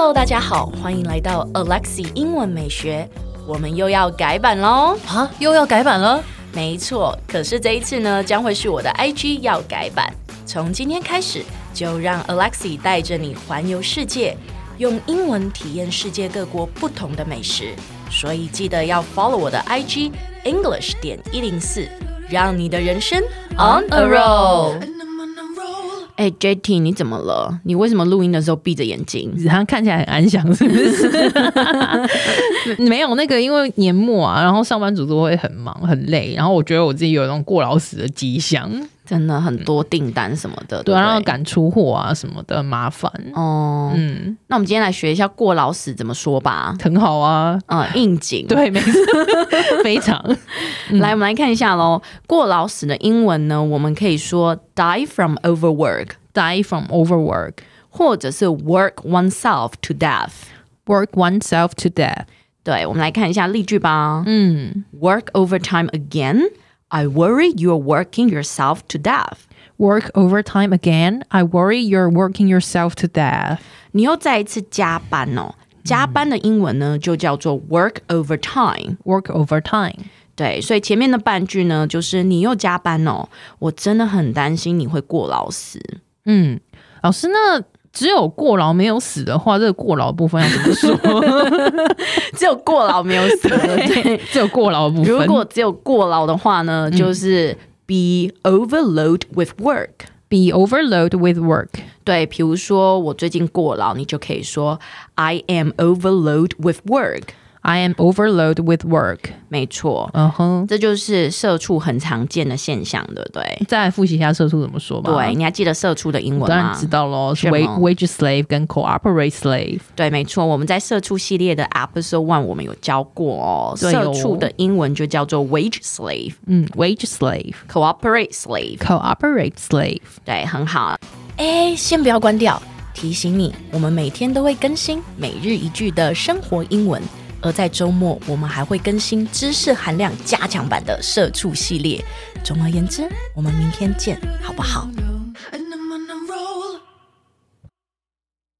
Hello， 大家好，歡迎來到 Alexi 英文美學，我們又要改版嘍！ 啊，又要改版了？ 沒錯，可是這一次呢，將會是我的 IG 要改版。從今天開始，就讓 Alexi 帶着你環遊世界，用英文體驗世界各國不同的美食。所以記得要 follow 我的 IG English.104，讓你的人生 on a roll。哎 ，JT， 你怎麼了？你為什麼錄音的時候閉着眼睛？ 他看起來很安詳，是不是？沒有那個，因為年末啊，然後上班族都會很忙很累，然後我覺得我自己有那種過勞死的跡象， 真的很多訂單什麼的， 對，然後趕出貨啊什麼的，很麻煩哦。 那我們今天來學一下過勞死怎麼說吧。 很好啊， 應景， 對，沒錯，非常。 來，我們來看一下咯。過勞死的英文呢，我們可以說 die from overwork。Die from overwork， 或者是 work oneself to death。Work oneself to death。 對，我們來看一下例句吧。Work overtime again. I worry you're working yourself to death. Work overtime again. I worry you're working yourself to death. 你又再一次加班哦。加班的英文呢，就叫做 work overtime。Work overtime。 对，所以前面的半句呢，就是你又加班哦，我真的很擔心你會過勞死。 老師，那只有過勞沒有死的話，這個過勞的部分要怎麼說？ 只有過勞沒有死，對， 只有過勞的部分。 如果只有過勞的話呢，就是 be overload with work。Be overload with work。 對，比如說我最近過勞，你就可以說 I am overload with work。I am overload with work。 沒錯，這就是社畜很常見的現象，對不對？ 再來複習一下社畜怎麼說吧。 對，你還記得社畜的英文嗎？ 當然知道咯，是 wage slave 跟 cooperate slave。 對，沒錯，我們在社畜系列的 episode 1我們有教過哦。社畜的英文就叫做 wage slave。wage slave。cooperate slave。cooperate slave。 對，很好。哎，先不要關掉，提醒你，我們每天都會更新每日一句的生活英文。而在週末，我們還會更新知識含量加強版的社畜系列。總而言之，我們明天見，好不好？